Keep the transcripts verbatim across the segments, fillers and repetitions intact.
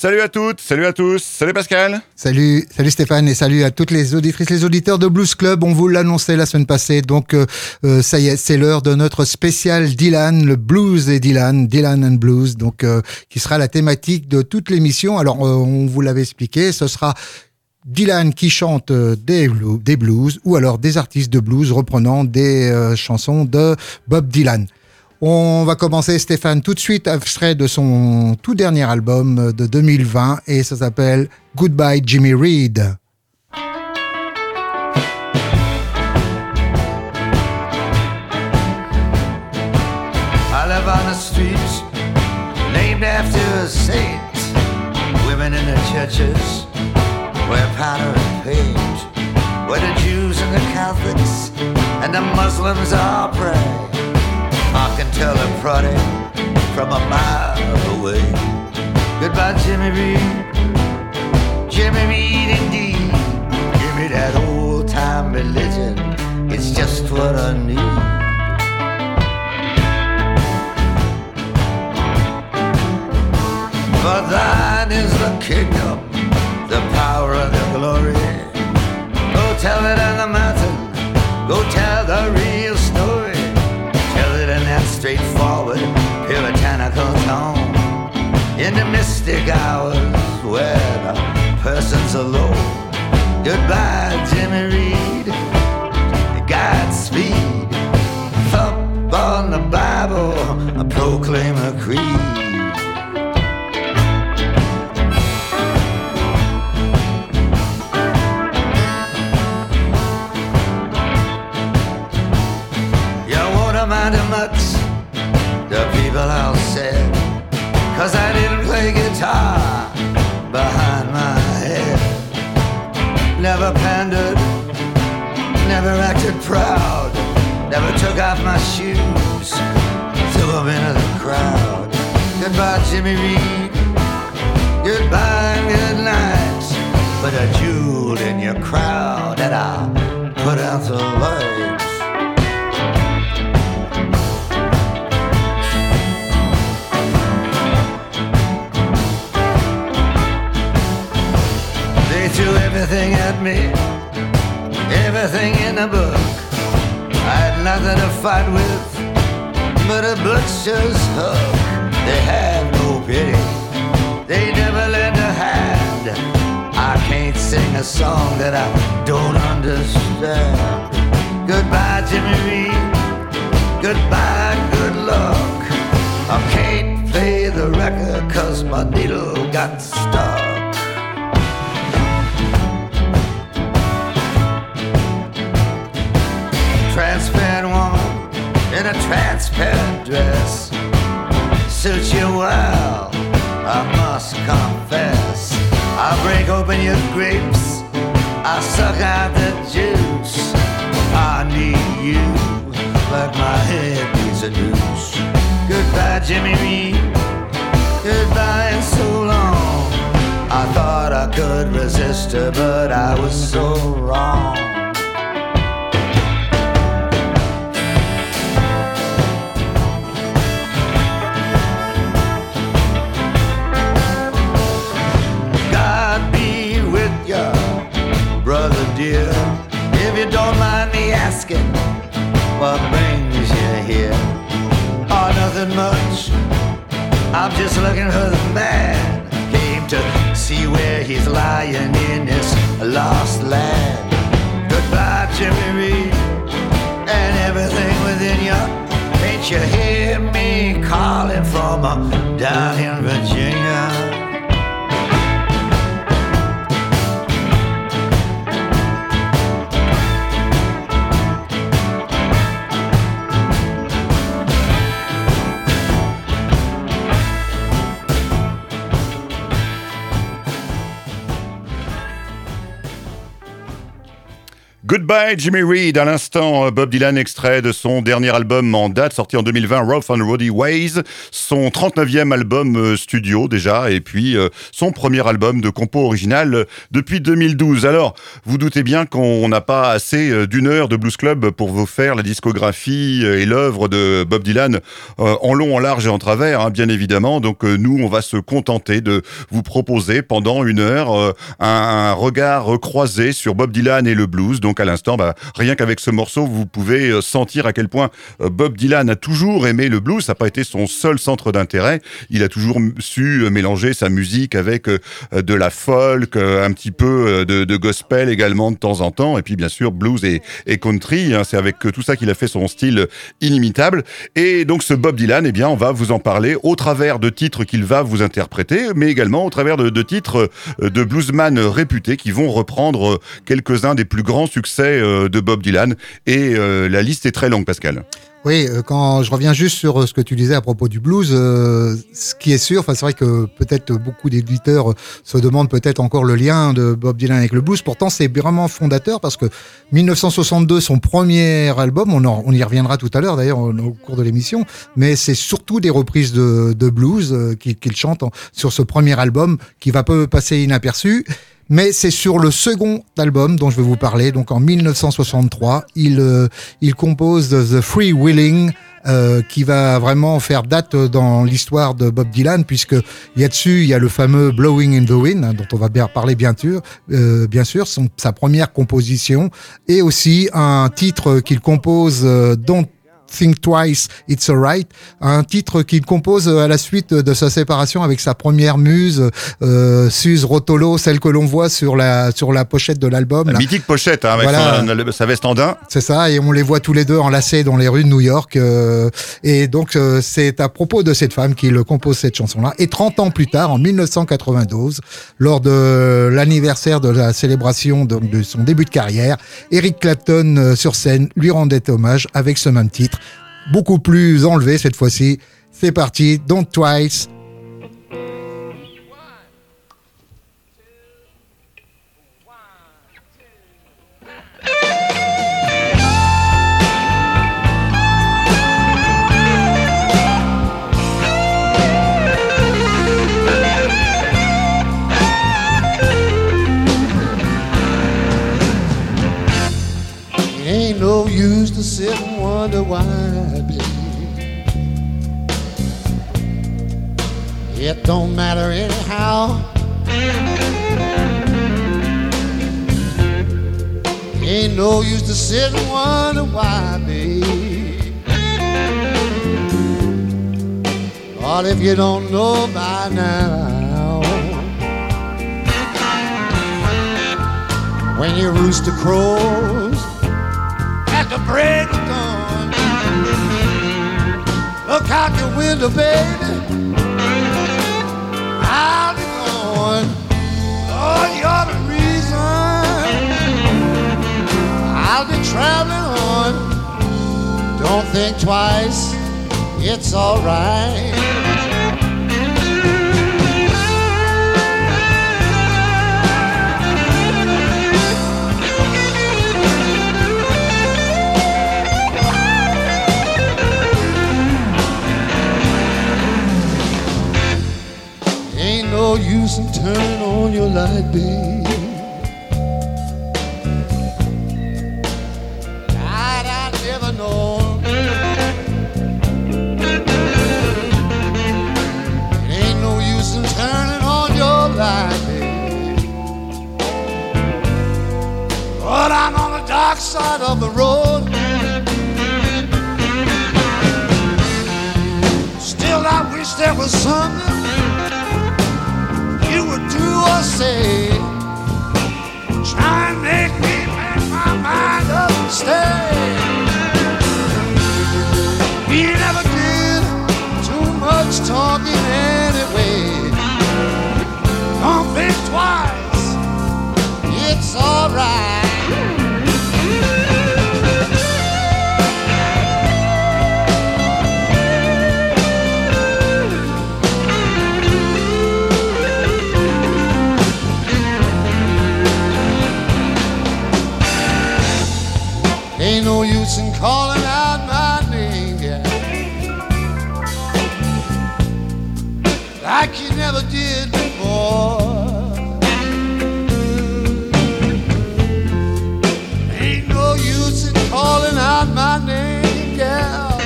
Salut à toutes, salut à tous, salut Pascal. Salut, salut Stéphane et salut à toutes les auditrices, les auditeurs de Blues Club. On vous l'annonçait la semaine passée, donc euh, euh, ça y est, c'est l'heure de notre spécial Dylan, le blues et Dylan, Dylan and Blues, donc euh, qui sera la thématique de toute l'émission. Alors euh, on vous l'avait expliqué, ce sera Dylan qui chante des blues, des blues ou alors des artistes de blues reprenant des euh, chansons de Bob Dylan. On va commencer, Stéphane, tout de suite, extrait de son tout dernier album de deux mille vingt et ça s'appelle Goodbye Jimmy Reed. I live on the streets named after a saint. Women in the churches wear powder and paint, where the Jews and the Catholics and the Muslims all pray. I can tell a prodding from a mile away. Goodbye, Jimmy Reed, Jimmy Reed indeed. Give me that old-time religion, it's just what I need. For thine is the kingdom, the power and the glory. Go tell it on the mountain, go tell the real story. Tell it in that straightforward, puritanical tone. In the mystic hours where the person's alone. Goodbye, Jimmy Reed, Godspeed. Thump on the Bible, I proclaim a creed. Matter much, the people all said, cause I didn't play guitar behind my head. Never pandered, never acted proud, never took off my shoes, threw them into the crowd. Goodbye, Jimmy Reed, goodbye and good night. Put a jewel in your crowd and I'll put out the lights. Threw everything at me, everything in the book. I had nothing to fight with but a butcher's hook. They had no pity, they never lend a hand. I can't sing a song that I don't understand. Goodbye, Jimmy Reed, goodbye, good luck. I can't play the record cause my needle got stuck. Transparent woman in a transparent dress suits you well, I must confess. I break open your grapes, I suck out the juice. I need you like my head needs a noose. Goodbye, Jimmy Reed, goodbye and so long. I thought I could resist her, but I was so wrong. Brother dear, if you don't mind me asking, what brings you here? Oh, nothing much, I'm just looking for the man. Came to see where he's lying in this lost land. Goodbye, Jimmy Reed, and everything within you. Can't you hear me calling from uh, down in Virginia? Goodbye Jimmy Reed, à l'instant Bob Dylan, extrait de son dernier album en date, sorti en deux mille vingt, Rough and Rowdy Ways, son trente-neuvième album studio déjà, et puis euh, son premier album de compo original depuis deux mille douze. Alors, vous doutez bien qu'on n'a pas assez d'une heure de Blues Club pour vous faire la discographie et l'œuvre de Bob Dylan euh, en long, en large et en travers, hein, bien évidemment. Donc euh, nous, on va se contenter de vous proposer pendant une heure euh, un, un regard croisé sur Bob Dylan et le blues. Donc à l'instant, bah, rien qu'avec ce morceau, vous pouvez sentir à quel point Bob Dylan a toujours aimé le blues. Ça n'a pas été son seul centre d'intérêt. Il a toujours su mélanger sa musique avec de la folk, un petit peu de, de gospel également de temps en temps. Et puis bien sûr, blues et, et country. Hein, c'est avec tout ça qu'il a fait son style inimitable. Et donc ce Bob Dylan, eh bien, on va vous en parler au travers de titres qu'il va vous interpréter, mais également au travers de, de titres de bluesman réputés qui vont reprendre quelques-uns des plus grands succès de Bob Dylan, et euh, la liste est très longue, Pascal. Oui, quand je reviens juste sur ce que tu disais à propos du blues, euh, ce qui est sûr, enfin c'est vrai que peut-être beaucoup d'éditeurs se demandent peut-être encore le lien de Bob Dylan avec le blues. Pourtant, c'est vraiment fondateur parce que dix-neuf cent soixante-deux, son premier album, on, en, on y reviendra tout à l'heure d'ailleurs au, au cours de l'émission, mais c'est surtout des reprises de, de blues euh, qu'il, qu'il chante en, sur ce premier album qui va peu passer inaperçu. Mais c'est sur le second album dont je vais vous parler. Donc en dix-neuf cent soixante-trois, il, euh, il compose The Free Willing, euh, qui va vraiment faire date dans l'histoire de Bob Dylan, puisque il y a dessus, il y a le fameux Blowing in the Wind, hein, dont on va bien parler bien sûr, euh, bien sûr, son, sa première composition, et aussi un titre qu'il compose, euh, Don't Think Twice, It's Alright, un titre qu'il compose à la suite de sa séparation avec sa première muse, euh, Suze Rotolo, celle que l'on voit sur la sur la pochette de l'album. La là. mythique pochette, hein, avec voilà. son, sa veste en daim. C'est ça, et on les voit tous les deux enlacés dans les rues de New York. Euh, et donc, euh, c'est à propos de cette femme qu'il compose cette chanson-là. Et trente ans plus tard, en dix-neuf cent quatre-vingt-douze, lors de l'anniversaire de la célébration de, de son début de carrière, Eric Clapton, euh, sur scène, lui rendait hommage avec ce même titre. Beaucoup plus enlevé cette fois-ci. C'est parti, Don't Twice. Ain't no use to sit and wonder why, baby. It don't matter anyhow. Ain't no use to sit and wonder why, baby. But if you don't know by now, when your rooster crows at the break of dawn, look out your window, baby. I'll be going. Lord, you're the reason I'll be traveling on. Don't think twice, it's alright. No use in turning on your light, babe. I'd, I'd never know. It ain't no use in turning on your light, babe. But I'm on the dark side of the road. Still, I wish there was something you would do or say. Try and make me make my mind up and stay. We never did too much talking anyway. Don't think twice, it's alright. like you never did before. Ain't no use in calling out my name, gal.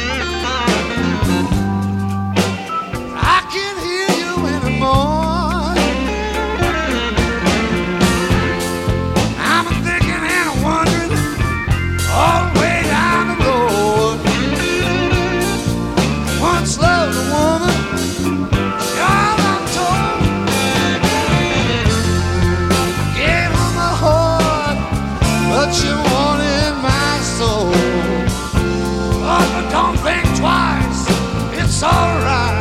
I can't hear you anymore. I'm thinking and wondering all the way down the road. Once loved a woman, sure I'm told. Gave her my heart, but she wanted my soul. Oh, but don't think twice, it's alright.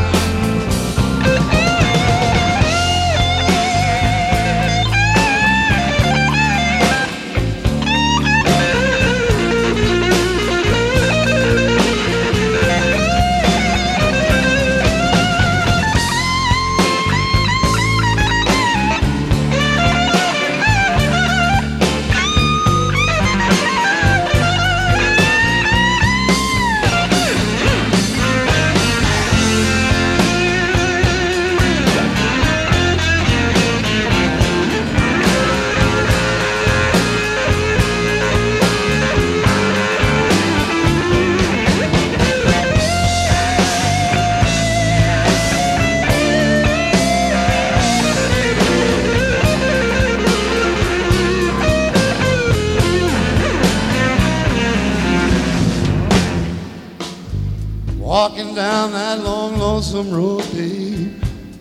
Walking down that long, lonesome road, babe.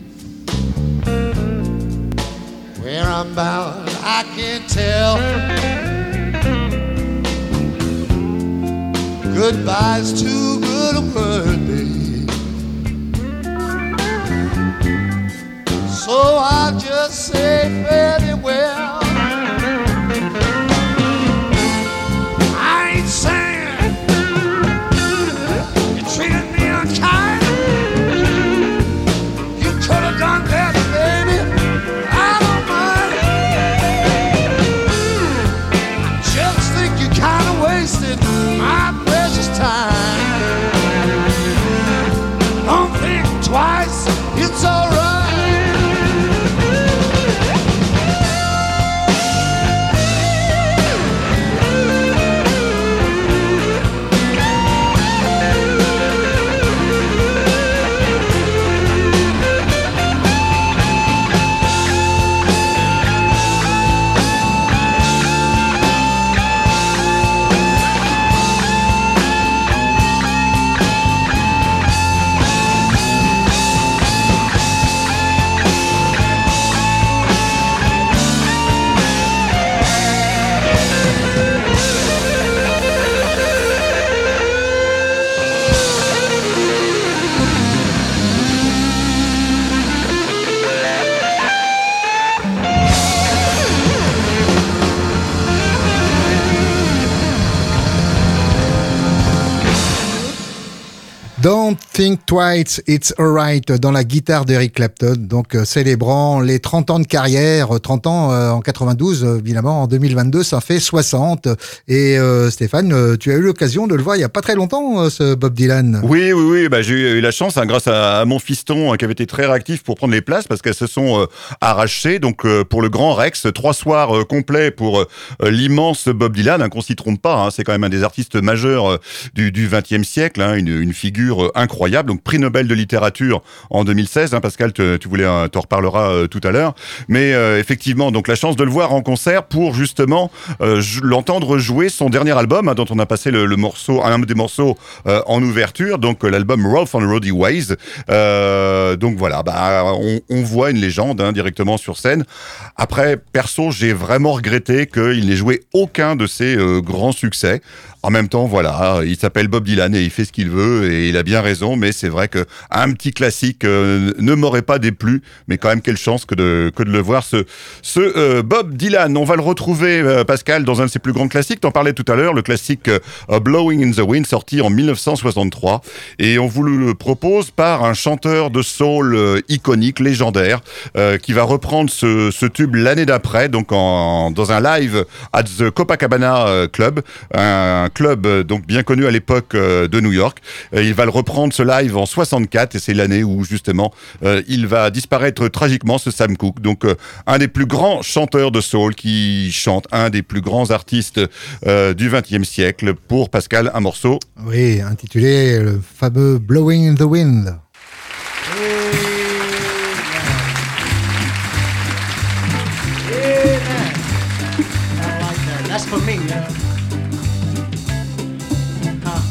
Where I'm bound, I can't tell. Goodbye's too good a word, babe. So I'll just say fairly well. I ain't saying treated me unkind. You could have done better, baby. I don't mind. I just think you kind of wasted my precious time. Don't think twice, it's alright. Don't Think Twice, It's Alright dans la guitare d'Eric Clapton, donc euh, célébrant les trente ans de carrière, trente ans euh, en quatre-vingt-douze, euh, évidemment en deux mille vingt-deux ça fait soixante. Et euh, Stéphane, euh, tu as eu l'occasion de le voir il y a pas très longtemps, euh, ce Bob Dylan. Oui, oui, oui, bah, j'ai eu la chance, hein, grâce à, à mon fiston, hein, qui avait été très réactif pour prendre les places, parce qu'elles se sont euh, arrachées. Donc euh, pour le Grand Rex, trois soirs euh, complets pour euh, l'immense Bob Dylan, hein, qu'on s'y trompe pas, hein, c'est quand même un des artistes majeurs euh, du, du vingtième siècle, hein, une, une figure incroyable, donc prix Nobel de littérature en deux mille seize, hein, Pascal, te, tu voulais, euh, t'en reparleras euh, tout à l'heure, mais euh, effectivement, donc la chance de le voir en concert pour justement euh, l'entendre jouer son dernier album, hein, dont on a passé le, le morceau, un des morceaux euh, en ouverture, donc euh, l'album Rough on Roady Ways. Euh, donc voilà, bah on, on voit une légende, hein, directement sur scène. Après, perso, j'ai vraiment regretté qu'il n'ait joué aucun de ses euh, grands succès. En même temps, voilà, il s'appelle Bob Dylan et il fait ce qu'il veut et il a bien raison, mais c'est vrai que un petit classique euh, ne m'aurait pas déplu, mais quand même quelle chance que de que de le voir, ce ce euh, Bob Dylan. On va le retrouver, euh, Pascal, dans un de ses plus grands classiques. T'en parlais tout à l'heure, le classique euh, Blowing in the Wind, sorti en mille neuf cent soixante-trois, et on vous le propose par un chanteur de soul euh, iconique, légendaire, euh, qui va reprendre ce ce tube l'année d'après, donc en dans un live at the Copacabana Club, un club donc bien connu à l'époque euh, de New York. Et il va le le reprendre ce live en soixante-quatre et c'est l'année où justement euh, il va disparaître tragiquement, ce Sam Cooke. Donc euh, un des plus grands chanteurs de soul qui chante, un des plus grands artistes euh, du vingtième siècle. Pour Pascal, un morceau. Oui, intitulé le fameux Blowing in the Wind. That's for me, man. Huh.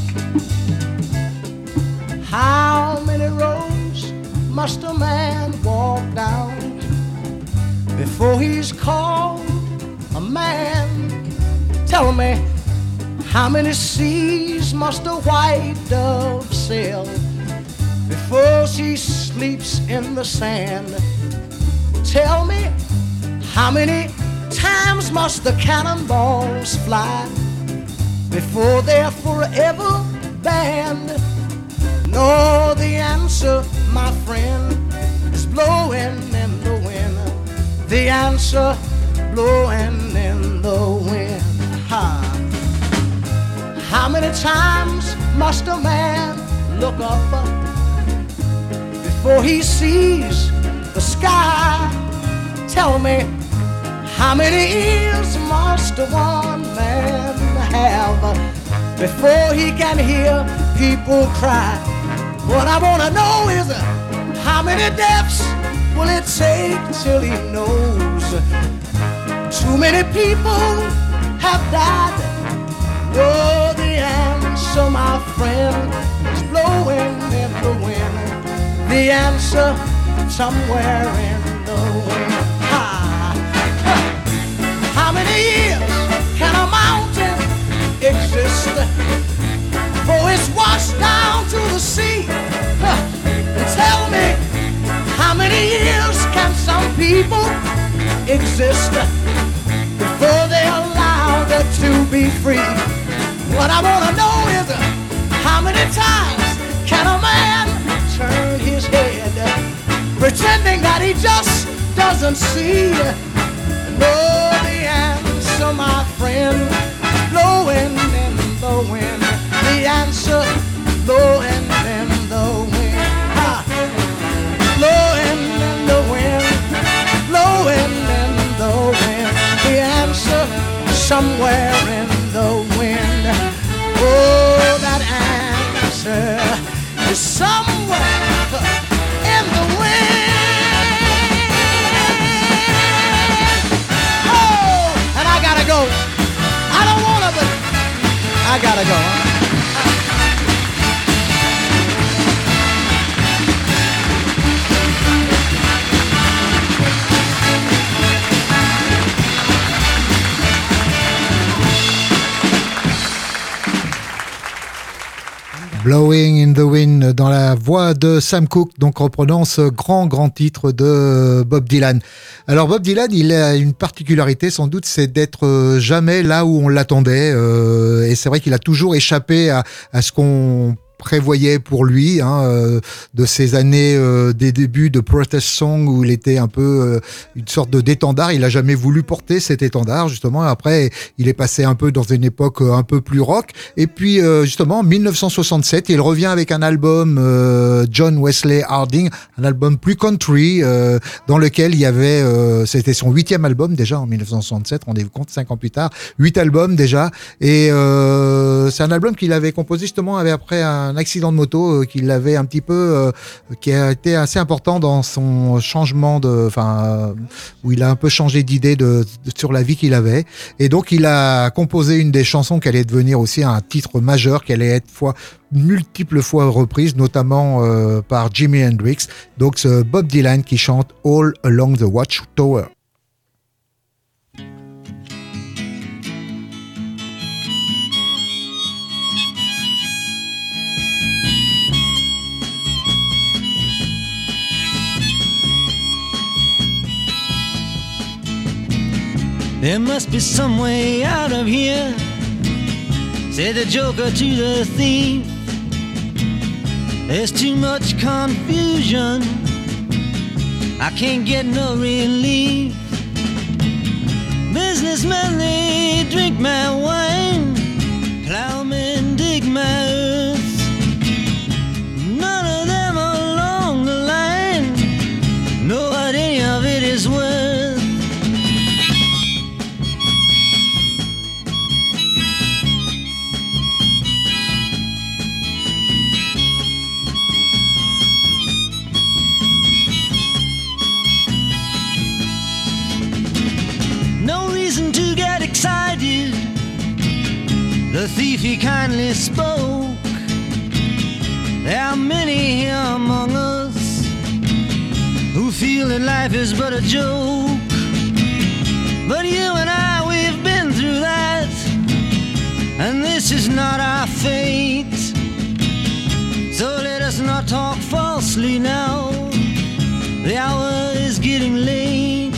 How many roads must a man walk down before he's called a man? Tell me, how many seas must a white dove sail before she sleeps in the sand? Tell me, how many times must the cannonballs fly before they're forever banned? No, the answer, my friend, is blowing in the wind. The answer, blowing in the wind. Ha. How many times must a man look up before he sees the sky? Tell me, how many ears must one man have before he can hear people cry? What I wanna know is how many deaths will it take till he knows? Too many people have died. Oh, the answer, my friend, is blowing in the wind. The answer, somewhere in the wind. Ha. How many years can a mountain exist before it's washed down to the sea? Huh. Tell me, how many years can some people exist before they're allowed to be free? What I wanna know is how many times can a man turn his head pretending that he just doesn't see? No, the answer, my friend, blowing in the wind. The answer, blowing in the wind. Ha. Blowing in the wind, blowing in the wind. The answer, somewhere in the wind. Oh, that answer is somewhere in the wind. I gotta go. I don't wanna, but I gotta go. Blowing in the Wind, dans la voix de Sam Cooke, donc reprenant ce grand, grand titre de Bob Dylan. Alors Bob Dylan, il a une particularité sans doute, c'est d'être jamais là où on l'attendait. Euh, et c'est vrai qu'il a toujours échappé à, à ce qu'on prévoyait pour lui, hein, euh, de ces années euh, des débuts de protest song où il était un peu euh, une sorte de d'étendard. Il a jamais voulu porter cet étendard justement. Après, il est passé un peu dans une époque euh, un peu plus rock. Et puis euh, justement, en dix-neuf cent soixante-sept, il revient avec un album euh, John Wesley Harding, un album plus country euh, dans lequel il y avait, euh, c'était son huitième album déjà en dix-neuf cent soixante-sept. Rendez-vous compte, cinq ans plus tard, huit albums déjà. Et euh, c'est un album qu'il avait composé justement avec après un un accident de moto euh, qui l'avait un petit peu, euh, qui a été assez important dans son changement de, enfin, euh, où il a un peu changé d'idée de, de, sur la vie qu'il avait. Et donc, il a composé une des chansons qui allait devenir aussi un titre majeur, qui allait être fois, multiples fois reprise, notamment euh, par Jimi Hendrix. Donc, c'est Bob Dylan qui chante All Along the Watchtower. There must be some way out of here, said the joker to the thief. There's too much confusion, I can't get no relief. Businessmen, they drink my wine, plowmen dig my earth. is worth. No reason to get excited. The thief he kindly spoke. There are many here among us who feel that life is but a joke. But you and I, we've been through that, and this is not our fate. So let us not talk falsely now. The hour is getting late.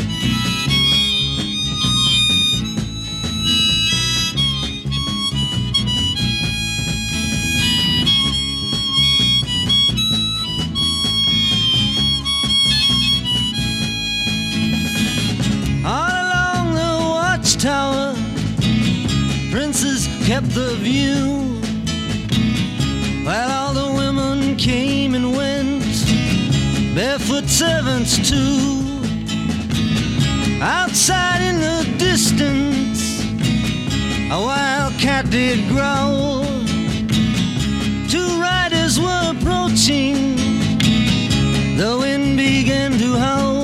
Tower, princes kept the view, while all the women came and went, barefoot servants too. Outside in the distance, a wild cat did growl. Two riders were approaching, the wind began to howl.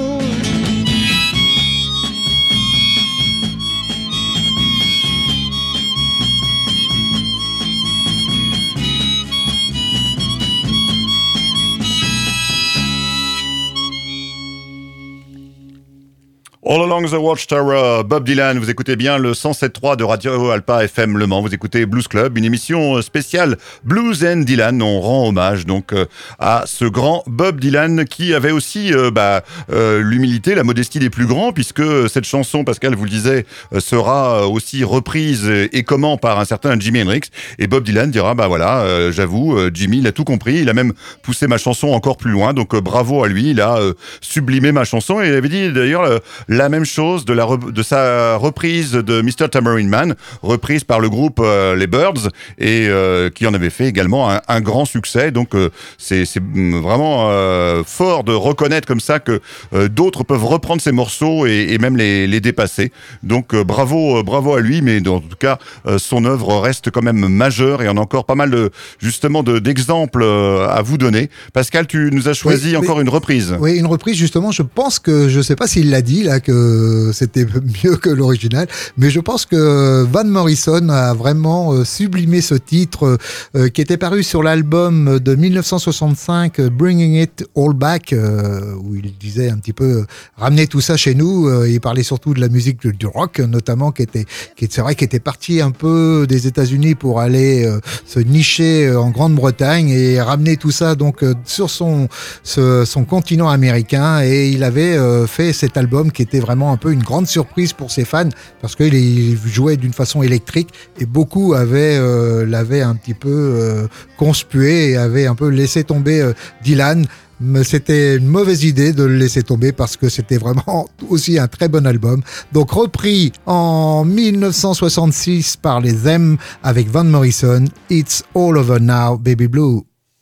All Along the Watchtower, Bob Dylan, vous écoutez bien le cent sept point trois de Radio Alpa F M Le Mans, vous écoutez Blues Club, une émission spéciale Blues and Dylan. On rend hommage donc euh, à ce grand Bob Dylan qui avait aussi euh, bah, euh, l'humilité, la modestie des plus grands, puisque cette chanson, Pascal vous le disait, euh, sera aussi reprise et comment par un certain Jimi Hendrix, et Bob Dylan dira bah voilà, euh, j'avoue, euh, Jimmy il a tout compris, il a même poussé ma chanson encore plus loin, donc euh, bravo à lui, il a euh, sublimé ma chanson, et il avait dit d'ailleurs euh, la même chose de, la re- de sa reprise de mister Tambourine Man, reprise par le groupe euh, les Byrds, et euh, qui en avait fait également un, un grand succès. Donc euh, c'est, c'est vraiment euh, fort de reconnaître comme ça que euh, d'autres peuvent reprendre ces morceaux et, et même les, les dépasser. Donc euh, bravo, euh, bravo à lui, mais en tout cas euh, son œuvre reste quand même majeure, et on a encore pas mal de, justement de, d'exemples euh, à vous donner. Pascal, tu nous as choisi oui, encore oui, une reprise. Oui, une reprise justement. Je pense que je sais pas s'il l'a dit là que c'était mieux que l'original, mais je pense que Van Morrison a vraiment sublimé ce titre euh, qui était paru sur l'album de dix-neuf cent soixante-cinq Bringing It All Back, euh, où il disait un petit peu ramener tout ça chez nous. Euh, il parlait surtout de la musique du rock notamment, qui était, qui c'est vrai, qui était parti un peu des États-Unis pour aller euh, se nicher en Grande-Bretagne et ramener tout ça donc euh, sur son ce, son continent américain. Et il avait euh, fait cet album qui était vraiment un peu une grande surprise pour ses fans, parce qu'il il jouait d'une façon électrique et beaucoup avaient euh, l'avaient un petit peu euh, conspué et avaient un peu laissé tomber euh, Dylan. Mais c'était une mauvaise idée de le laisser tomber, parce que c'était vraiment aussi un très bon album. Donc repris en dix-neuf cent soixante-six par les Them avec Van Morrison, It's All Over Now, Baby Blue.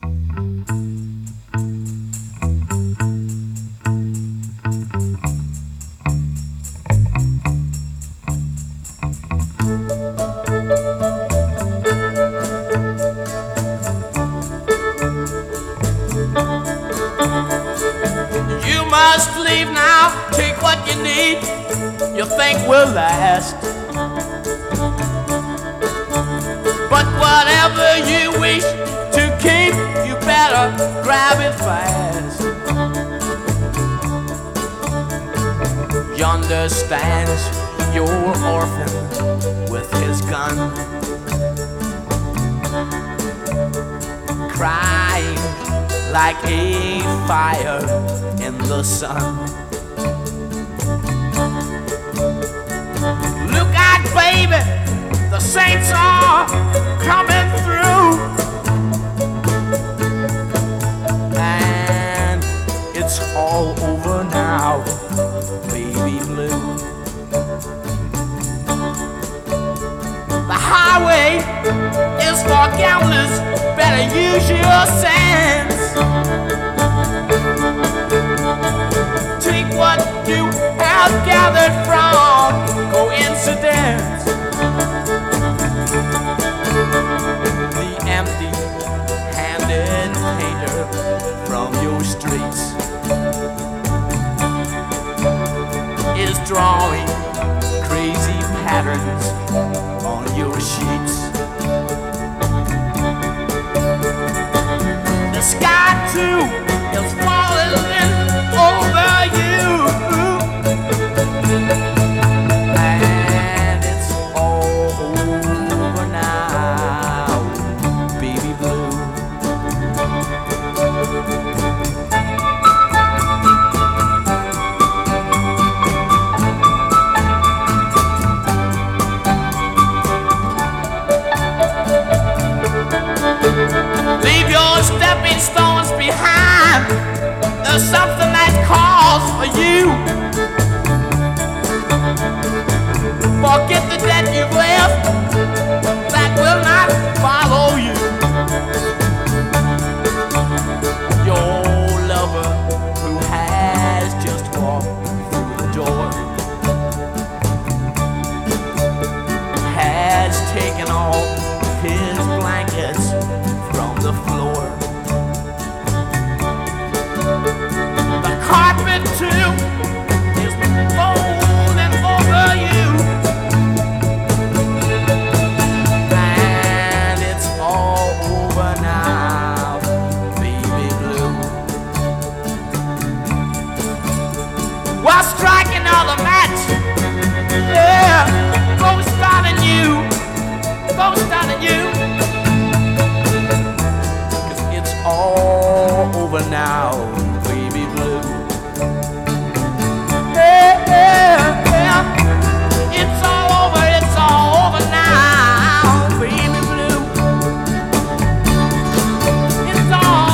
Must leave now, take what you need, you think will last. But whatever you wish to keep, you better grab it fast. Yonder stands your orphan with his gun, crying like a fire in the sun. Look out, baby, the saints are coming through, and it's all over now, baby blue. The highway is for gamblers, better use your sense. Take what not gathered from coincidence. The empty-handed painter from your streets is drawing crazy patterns on your sheets. The sky too is falling over you, and it's all over now, baby blue. Leave your stepping stones behind. There's something that calls for you. Forget the debt you've left that will not follow you. Your lover who has just walked through the door has taken all his blankets from the floor. The carpet too is folding over you, and it's all over now, baby blue. While striking another match, yeah, ghost starting you, ghost starting you. All over now, baby blue. Yeah, yeah, yeah. It's all over, it's all over now, baby blue. It's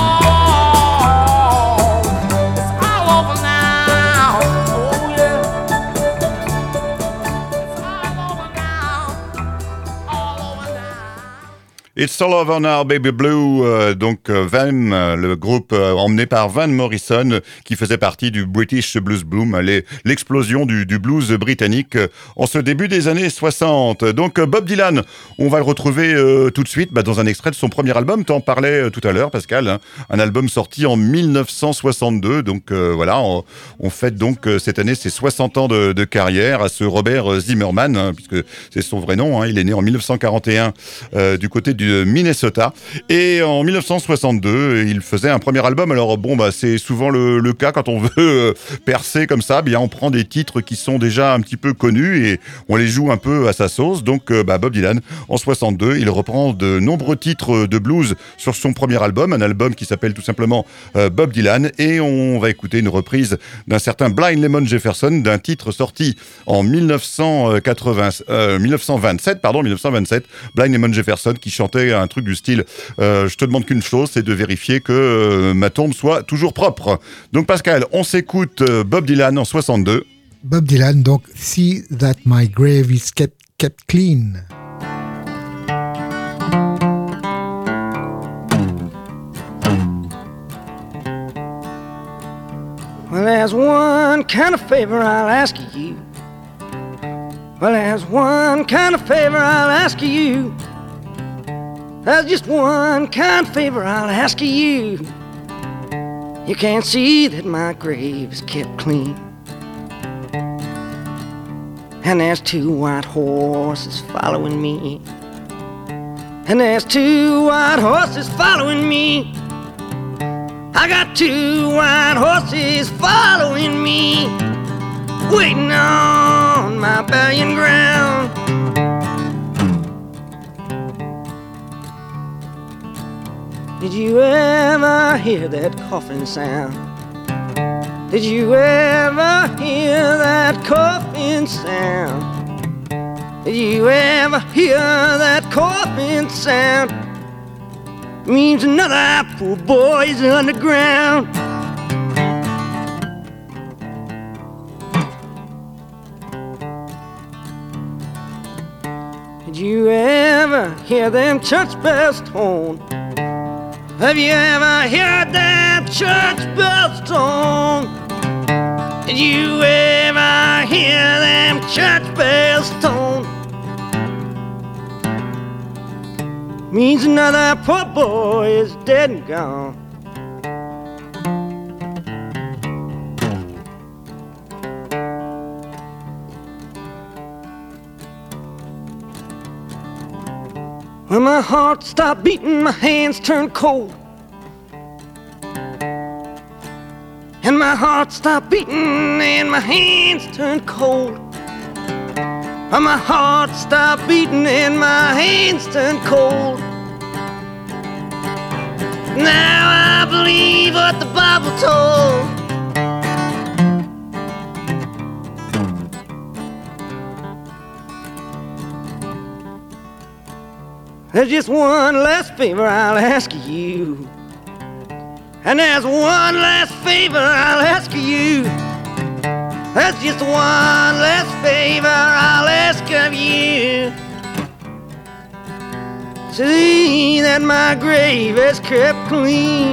all, it's all over now. Oh yeah. It's all over now, all over now. It's all over now, baby blue. Euh, donc euh, Van, euh, le groupe euh, emmené par Van Morrison, euh, qui faisait partie du British Blues Boom, les, l'explosion du, du blues britannique euh, en ce début des années soixante. Donc euh, Bob Dylan, on va le retrouver euh, tout de suite bah, dans un extrait de son premier album. T'en parlais euh, tout à l'heure, Pascal, hein, un album sorti en dix-neuf cent soixante-deux. Donc euh, voilà, on, on fête donc euh, cette année ses soixante ans de, de carrière à ce Robert Zimmerman, hein, puisque c'est son vrai nom. Hein, il est né en dix-neuf cent quarante et un euh, du côté du Minnesota, et en dix-neuf cent soixante-deux il faisait un premier album. Alors bon bah c'est souvent le, le cas quand on veut euh, percer comme ça, bien on prend des titres qui sont déjà un petit peu connus et on les joue un peu à sa sauce. Donc euh, bah, Bob Dylan en soixante-deux il reprend de nombreux titres de blues sur son premier album, un album qui s'appelle tout simplement euh, Bob Dylan, et on va écouter une reprise d'un certain Blind Lemon Jefferson d'un titre sorti en dix-neuf cent quatre-vingts, euh, dix-neuf cent vingt-sept, pardon dix-neuf cent vingt-sept, Blind Lemon Jefferson qui chantait un truc du style euh, je te demande qu'une chose, c'est de vérifier que euh, ma tombe soit toujours propre. Donc Pascal, on s'écoute euh, Bob Dylan en soixante-deux. Bob Dylan, donc See That My Grave Is Kept, kept Clean. Well, there's one kind of favor I'll ask of you. Well, there's one kind of favor I'll ask of you. There's just one kind of favor I'll ask of you. You can't see that my grave is kept clean. And there's two white horses following me. And there's two white horses following me. I got two white horses following me, waiting on my burying ground. Did you ever hear that coughing sound? Did you ever hear that coughing sound? Did you ever hear that coughing sound? Means another poor boy's underground. Did you ever hear them church bells tone? Have you ever heard that church bells tone? Did you ever hear them church bells tone. Means another poor boy is dead and gone. When my heart stopped beating, my hands turned cold. And my heart stopped beating and my hands turned cold. And my heart stopped beating and my hands turned cold. Now I believe what the Bible told. There's just one last favor I'll ask of you. And there's one last favor I'll ask of you. There's just one last favor I'll ask of you. See that my grave is kept clean.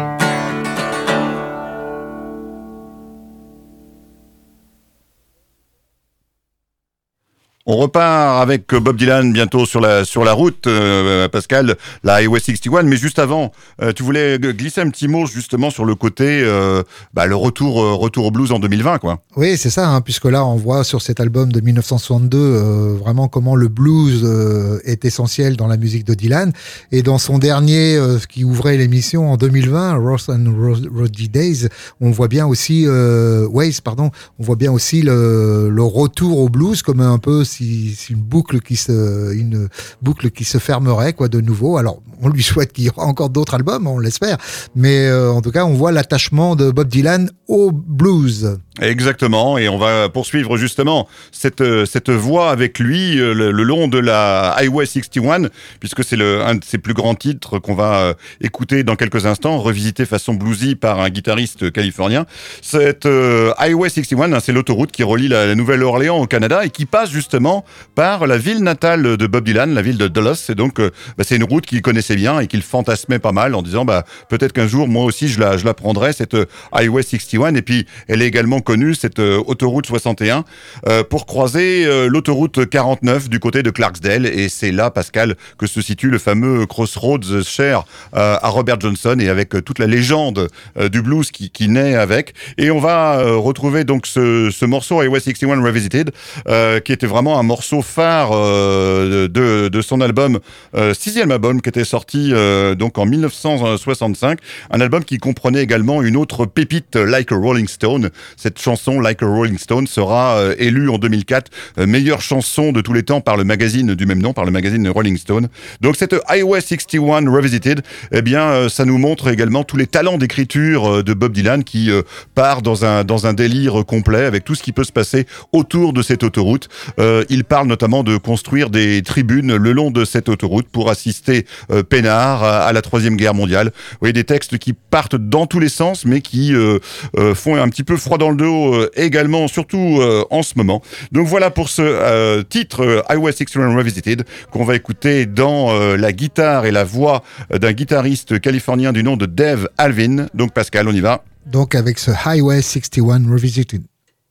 On repart avec Bob Dylan bientôt sur la, sur la route, euh, Pascal, la Highway soixante et un. Mais juste avant, euh, tu voulais glisser un petit mot justement sur le côté, euh, bah, le retour, euh, retour au blues en deux mille vingt, quoi. Oui, c'est ça, hein, puisque là, on voit sur cet album de dix-neuf cent soixante-deux euh, vraiment comment le blues euh, est essentiel dans la musique de Dylan. Et dans son dernier, euh, qui ouvrait l'émission en deux mille vingt, Rough and Rowdy Days, on voit bien aussi, euh, Ways, pardon, on voit bien aussi le, le retour au blues comme un peu si, si une boucle qui se, une boucle qui se fermerait, quoi, de nouveau. Alors, on lui souhaite qu'il y aura encore d'autres albums, on l'espère. Mais euh, en tout cas, on voit l'attachement de Bob Dylan au blues. Exactement, et on va poursuivre justement cette, cette voie avec lui le, le long de la Highway soixante et un, puisque c'est le, un de ses plus grands titres qu'on va écouter dans quelques instants, revisité façon bluesy par un guitariste californien. Cette euh, Highway soixante et un, hein, c'est l'autoroute qui relie la, la Nouvelle-Orléans au Canada et qui passe justement par la ville natale de Bob Dylan, la ville de Dulles. Et donc, euh, bah, c'est une route qu'il connaissait bien et qu'il fantasmait pas mal en disant bah, peut-être qu'un jour, moi aussi, je la, je la prendrai, cette euh, Highway soixante et un. Et puis, elle est également connue, cette euh, autoroute soixante et un, euh, pour croiser euh, l'autoroute quarante-neuf du côté de Clarksdale. Et c'est là, Pascal, que se situe le fameux Crossroads cher euh, à Robert Johnson et avec euh, toute la légende euh, du blues qui, qui naît avec. Et on va euh, retrouver donc ce, ce morceau Highway soixante et un Revisited, euh, qui était vraiment un morceau phare euh, de, de son album, euh, sixième album, qui était sorti euh, donc en dix-neuf cent soixante-cinq. Un album qui comprenait également une autre pépite, Like a Rolling Stone. Cette chanson, Like a Rolling Stone, sera euh, élue en deux mille quatre euh, meilleure chanson de tous les temps par le magazine du même nom, par le magazine Rolling Stone. Donc cette Highway soixante et un Revisited, eh bien, euh, ça nous montre également tous les talents d'écriture euh, de Bob Dylan qui euh, part dans un, dans un délire complet avec tout ce qui peut se passer autour de cette autoroute. Euh, il parle notamment de construire des tribunes le long de cette autoroute pour assister euh, peinard à, à la Troisième Guerre mondiale. Vous voyez, des textes qui partent dans tous les sens, mais qui euh, euh, font un petit peu froid dans le dos euh, également, surtout euh, en ce moment. Donc voilà pour ce euh, titre euh, Highway soixante et un Revisited, qu'on va écouter dans euh, la guitare et la voix euh, d'un guitariste californien du nom de Dave Alvin. Donc Pascal, on y va. Donc avec ce Highway soixante et un Revisited.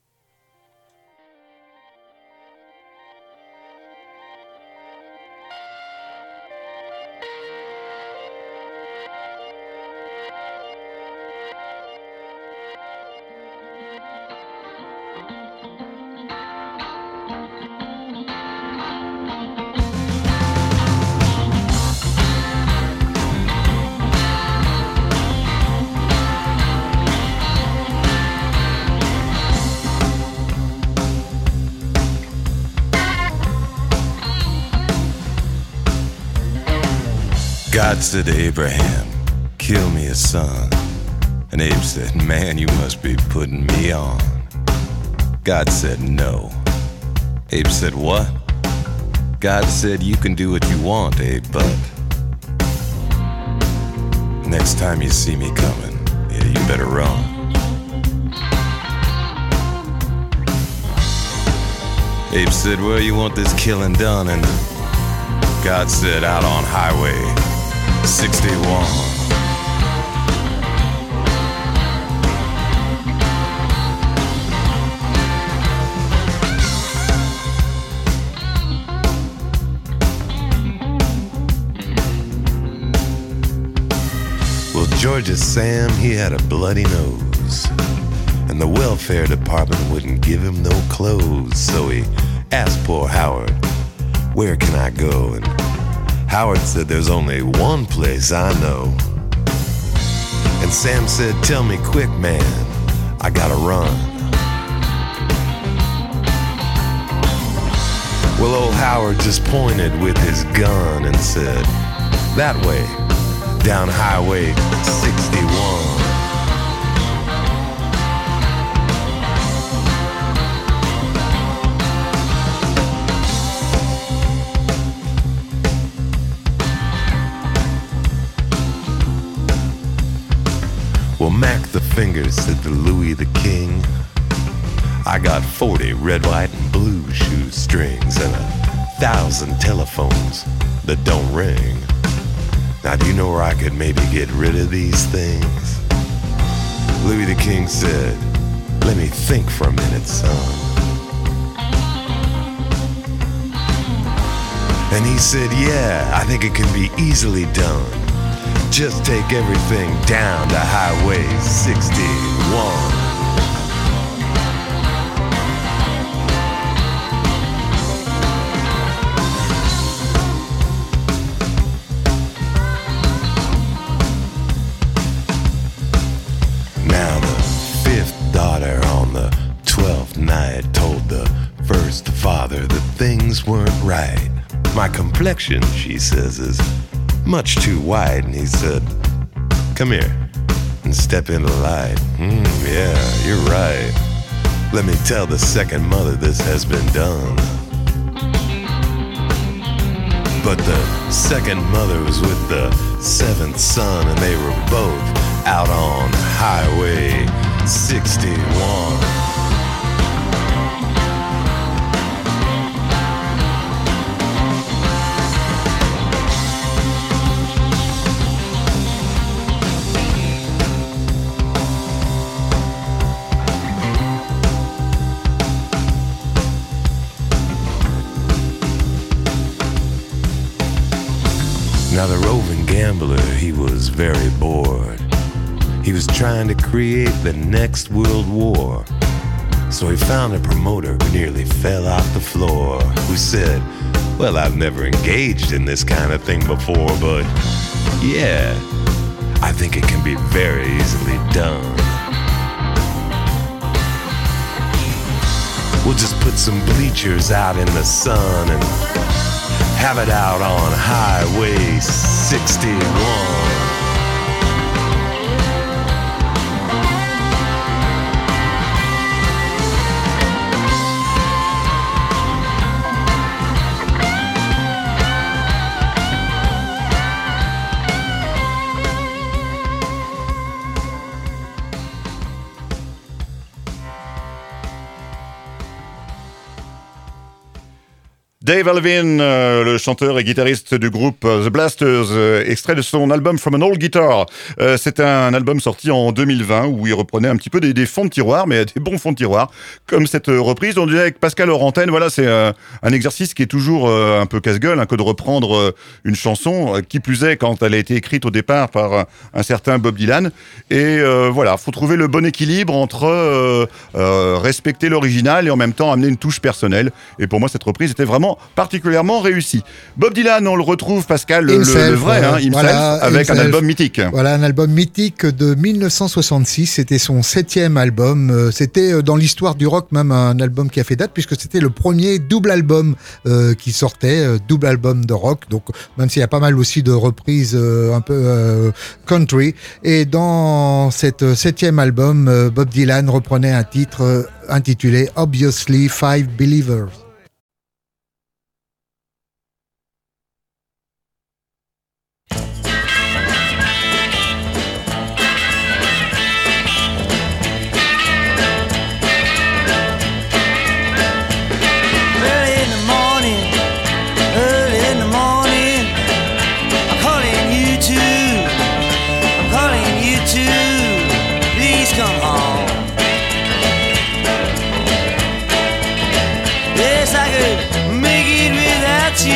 God said to Abraham, kill me a son. And Abe said, man, you must be putting me on. God said, no. Abe said, what? God said, you can do what you want, Abe, but next time you see me coming, yeah, you better run. Abe said, where you want this killing done? And God said, out on Highway sixty-one. George's Sam, he had a bloody nose, and the welfare department wouldn't give him no clothes. So he asked poor Howard, where can I go? And Howard said, there's only one place I know. And Sam said, tell me quick, man, I gotta run. Well, old Howard just pointed with his gun and said, that way, down Highway sixty-one. Well, Mac the Finger said to Louis the King, I got forty red, white, and blue shoestrings and a thousand telephones that don't ring. Now, do you know where I could maybe get rid of these things? Louis the King said, let me think for a minute, son. And he said, yeah, I think it can be easily done. Just take everything down to Highway sixty-one. Now the fifth daughter on the twelfth night told the first father that things weren't right. My complexion, she says, is much too white. And he said, come here and step into the light. Mm, yeah, you're right. Let me tell the second mother this has been done. But the second mother was with the seventh son, and they were both out on Highway sixty-one. Now the roving gambler, he was very bored. He was trying to create the next world war. So he found a promoter who nearly fell off the floor, who said, well, I've never engaged in this kind of thing before, but yeah, I think it can be very easily done. We'll just put some bleachers out in the sun and have it out on Highway sixty-one. Dave Alvin, euh, le chanteur et guitariste du groupe euh, The Blasters, euh, extrait de son album From an Old Guitar. Euh, c'est un album sorti en deux mille vingt où il reprenait un petit peu des, des fonds de tiroir, mais des bons fonds de tiroir, comme cette reprise. On disait avec Pascal Orantène, voilà, c'est euh, un exercice qui est toujours euh, un peu casse-gueule, hein, que de reprendre euh, une chanson, euh, qui plus est quand elle a été écrite au départ par euh, un certain Bob Dylan. Et euh, voilà, faut trouver le bon équilibre entre euh, euh, respecter l'original et en même temps amener une touche personnelle. Et pour moi, cette reprise était vraiment particulièrement réussi. Bob Dylan, on le retrouve, Pascal, le, Himself, le vrai, hein, Himself, voilà, avec Himself. un album mythique. Voilà, un album mythique de dix-neuf cent soixante-six. C'était son septième album. C'était dans l'histoire du rock même un album qui a fait date, puisque c'était le premier double album euh, qui sortait, euh, double album de rock. Donc, même s'il y a pas mal aussi de reprises euh, un peu euh, country. Et dans cet septième album, euh, Bob Dylan reprenait un titre euh, intitulé Obviously Five Believers.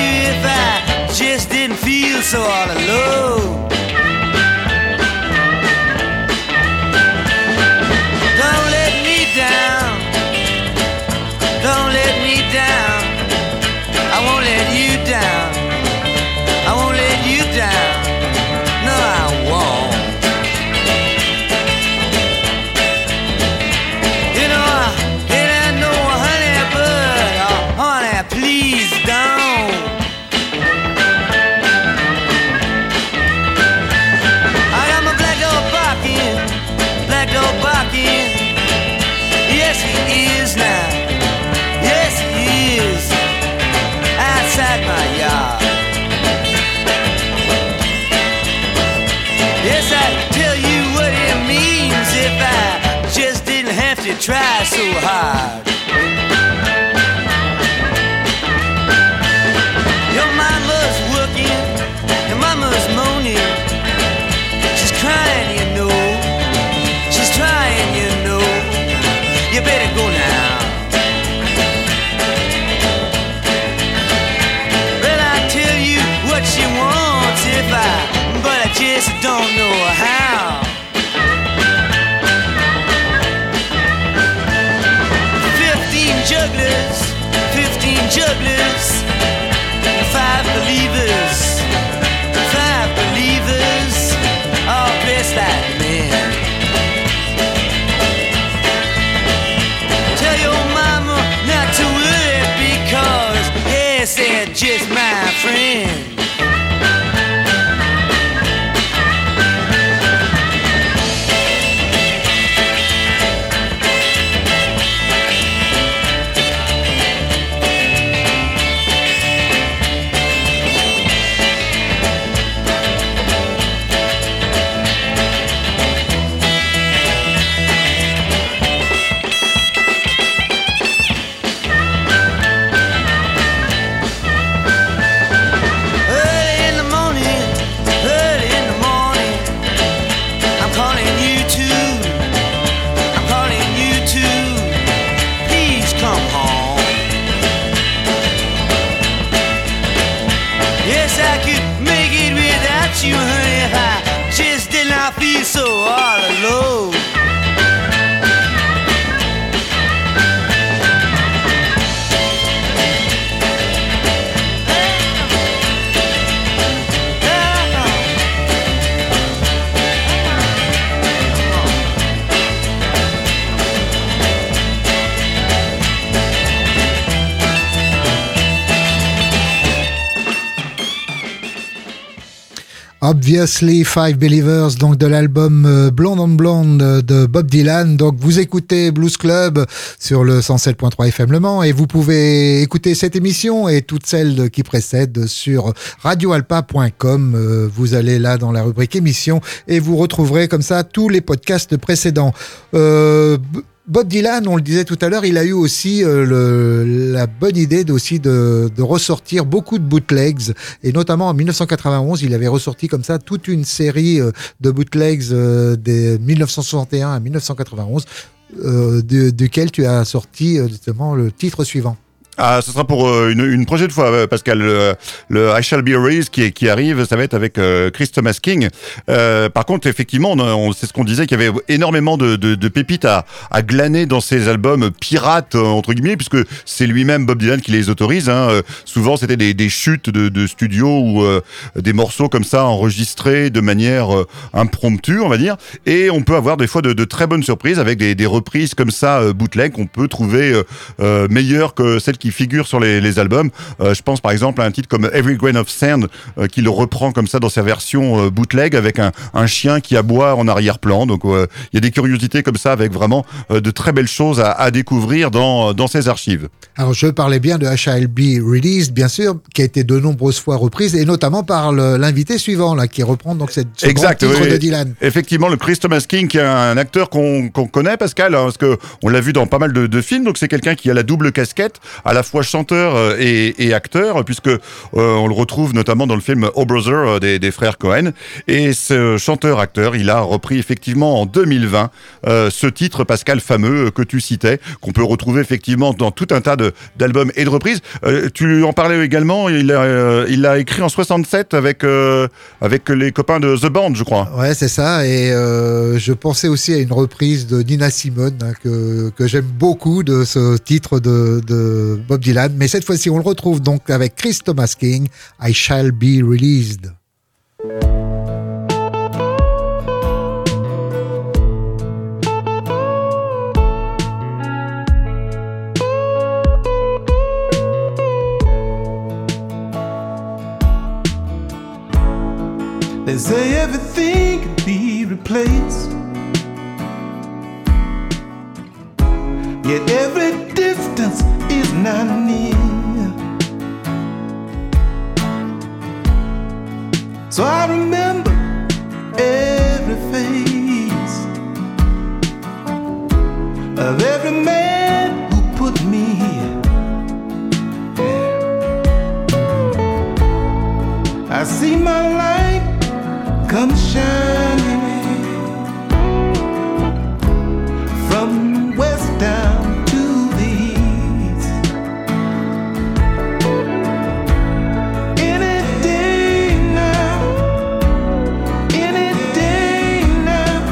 So all alone. he is now. Yes, he is outside my yard. Yes, I tell you what it means if I just didn't have to try so hard. Your mama's working, your mama's moaning. She's crying, you know. She's trying, you know. You better go now. Well, I tell you what she wants if I, but I just don't know how. Fifteen jugglers, fifteen jugglers, five believers, five believers, all dressed like men. Tell your mama not to worry because, yes, they're just my friends. You, honey, if I just did not feel so all alone. Obviously Five Believers, donc de l'album euh, Blonde on Blonde de Bob Dylan. Donc vous écoutez Blues Club sur le cent sept point trois F M Le Mans et vous pouvez écouter cette émission et toutes celles qui précèdent sur radio alpa point com. Euh, vous allez là dans la rubrique émission et vous retrouverez comme ça tous les podcasts précédents. Euh, Bob Dylan, on le disait tout à l'heure, il a eu aussi euh, le, la bonne idée de, aussi de, de ressortir beaucoup de bootlegs, et notamment en dix-neuf cent quatre-vingt-onze, il avait ressorti comme ça toute une série euh, de bootlegs euh, des dix-neuf cent soixante et un à dix-neuf cent quatre-vingt-onze, euh, de, duquel tu as sorti euh, justement le titre suivant. Ah, ce sera pour euh, une, une prochaine fois, Pascal. Le, le I Shall Be Raised qui, qui arrive, ça va être avec euh, Chris Thomas King. Euh, par contre, effectivement, on, on, c'est ce qu'on disait, qu'il y avait énormément de, de, de pépites à, à glaner dans ces albums pirates, entre guillemets, puisque c'est lui-même, Bob Dylan, qui les autorise. Hein. Euh, souvent, c'était des, des chutes de, de studio ou euh, des morceaux comme ça enregistrés de manière euh, impromptue, on va dire. Et on peut avoir des fois de, de très bonnes surprises avec des, des reprises comme ça, euh, bootleg, qu'on peut trouver euh, euh, meilleures que celles qui figurent sur les, les albums. Euh, je pense par exemple à un titre comme Every Grain of Sand euh, qui le reprend comme ça dans sa version euh, bootleg avec un, un chien qui aboie en arrière-plan. Donc il euh, y a des curiosités comme ça avec vraiment euh, de très belles choses à, à découvrir dans, dans ces archives. Alors je parlais bien de I Shall Be Released, bien sûr, qui a été de nombreuses fois reprise et notamment par le, l'invité suivant là qui reprend donc cette ce exact, grand titre oui, de Dylan. Effectivement, le Chris Thomas King qui est un acteur qu'on, qu'on connaît, Pascal, hein, parce que on l'a vu dans pas mal de, de films. Donc c'est quelqu'un qui a la double casquette, à la fois chanteur et, et acteur, puisque euh, on le retrouve notamment dans le film Oh Brother des, des frères Cohen. Et ce chanteur-acteur, il a repris effectivement en deux mille vingt euh, ce titre, Pascal, fameux que tu citais, qu'on peut retrouver effectivement dans tout un tas de, d'albums et de reprises. Euh, tu en parlais également, il a, euh, il l'a écrit en soixante-sept avec, euh, avec les copains de The Band, je crois. Ouais, c'est ça. Et euh, je pensais aussi à une reprise de Nina Simone hein, que, que j'aime beaucoup de ce titre de, de Bob Dylan. Mais cette fois-ci, on le retrouve donc avec Chris Thomas King, I Shall Be Released. They say everything can be replaced. yet every distance is not near. So I remember every face of every man who put me here. I see my light come shining from west down to the east. Any day now, any day now,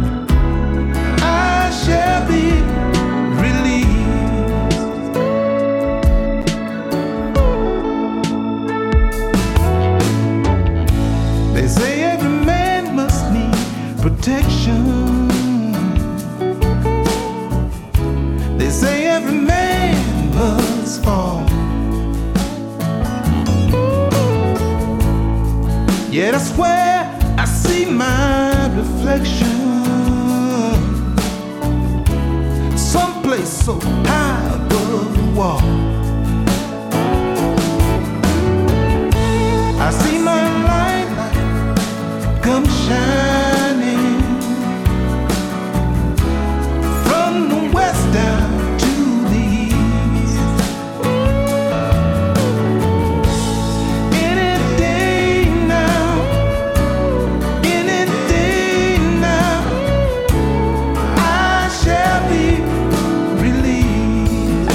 I shall be released. They say every man must need protection. They say every man must fall. Yet I swear I see my reflection someplace so high above the wall. I see my light come shining from the west down to the east. Any day now, any day now, I shall be released.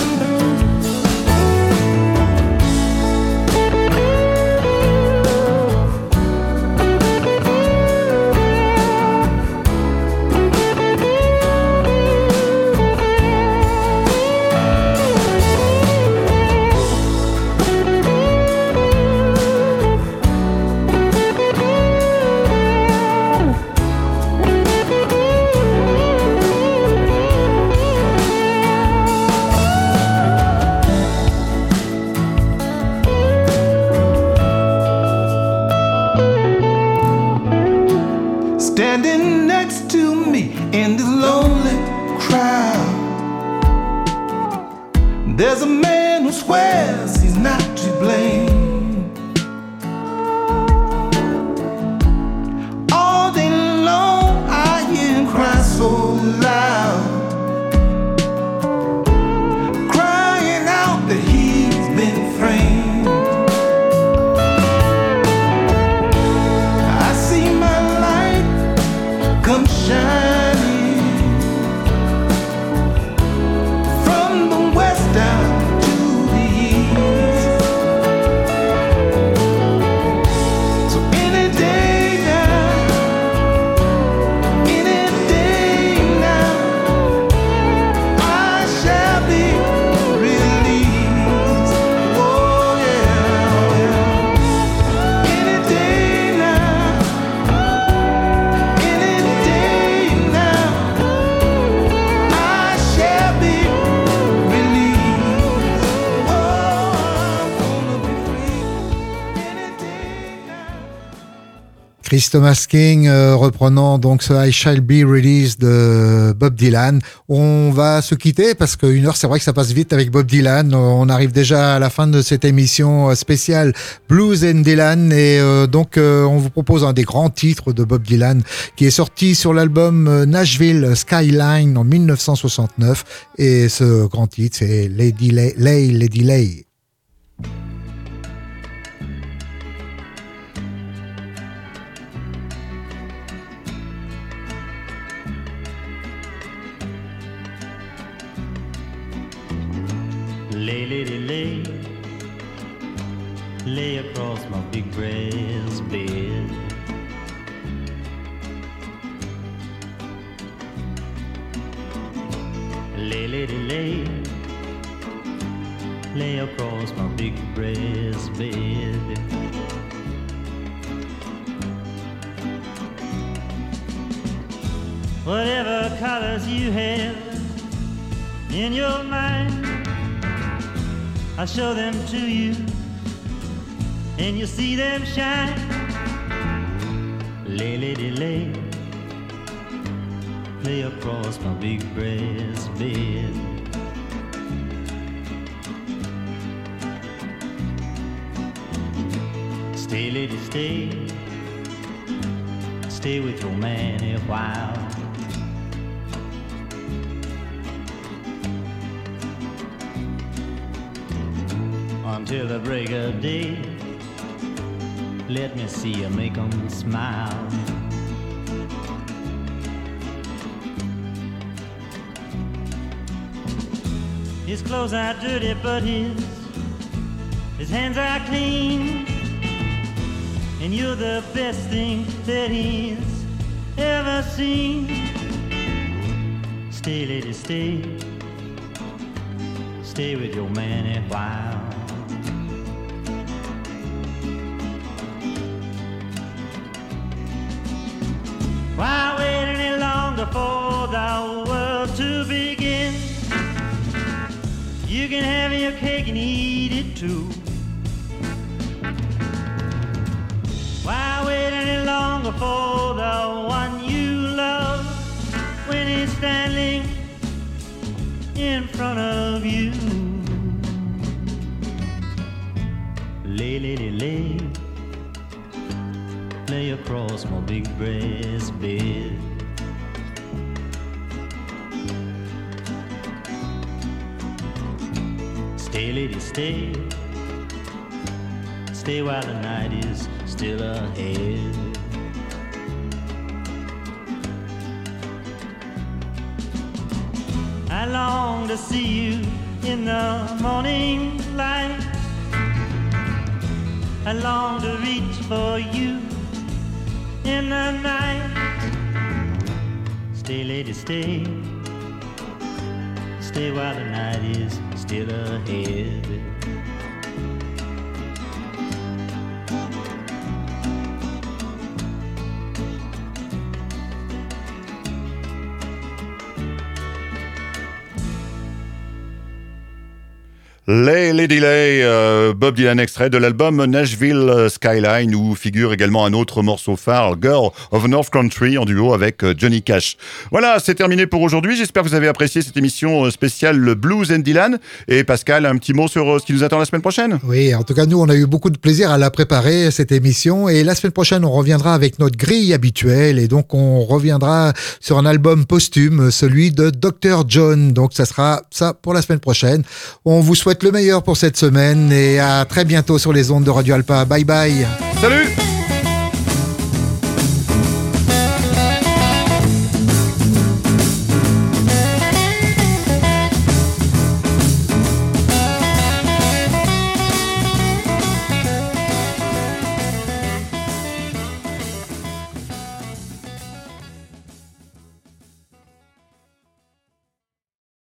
Standing next to me in the lonely crowd, there's a man who swears he's not to blame. All day long I hear him cry so loud, crying out that he's been framed. I see my light come shining from the west down to the east. So any day now, any day now, I shall be released. Oh yeah, oh yeah. Any day now, any day now, I shall be released. Oh, I'm gonna be free. Any day now. Chris Thomas King euh, reprenant donc ce I Shall Be Released de Bob Dylan. On va se quitter parce qu'une heure, c'est vrai que ça passe vite avec Bob Dylan. On arrive déjà à la fin de cette émission spéciale Blues and Dylan et euh, donc euh, on vous propose un des grands titres de Bob Dylan qui est sorti sur l'album euh, Nashville Skyline en mille neuf cent soixante-neuf et ce grand titre c'est Lady Lay, Lay Lady Lay. Lay, lady, lay, lay across my big brass bed. Lay, lady, lay, lay across my big brass bed. Whatever colors you have in your mind, I'll show them to you, and you'll see them shine. Lay, lady, lay, lay across my big brass bed. Stay, lady, stay. Stay with your man a while. Until the break of day, let me see you make 'em smile. His clothes are dirty, but his his hands are clean. And you're the best thing that he's ever seen. Stay, lady, stay. Stay with your man a while. Why wait any longer for the world to begin? You can have your cake and eat it too. Why wait any longer for the one you love when he's standing in front of you? Lay, lady, lay, lay across my big breast bed. Stay, lady, stay. Stay while the night is still ahead. I long to see you in the morning light. I long to reach for you in the night. Stay, lady, stay. Stay while the night is still ahead. Les Lady Lay, euh, Bob Dylan extrait de l'album Nashville Skyline, où figure également un autre morceau phare, Girl of North Country, en duo avec Johnny Cash. Voilà, c'est terminé pour aujourd'hui. J'espère que vous avez apprécié cette émission spéciale le Blues and Dylan. Et Pascal, un petit mot sur ce qui nous attend la semaine prochaine? Oui, en tout cas, nous, on a eu beaucoup de plaisir à la préparer, cette émission. Et la semaine prochaine, on reviendra avec notre grille habituelle. Et donc, on reviendra sur un album posthume, celui de docteur John. Donc, ça sera ça pour la semaine prochaine. On vous souhaite le meilleur pour cette semaine et à très bientôt sur les ondes de Radio Alpa. Bye bye. Salut.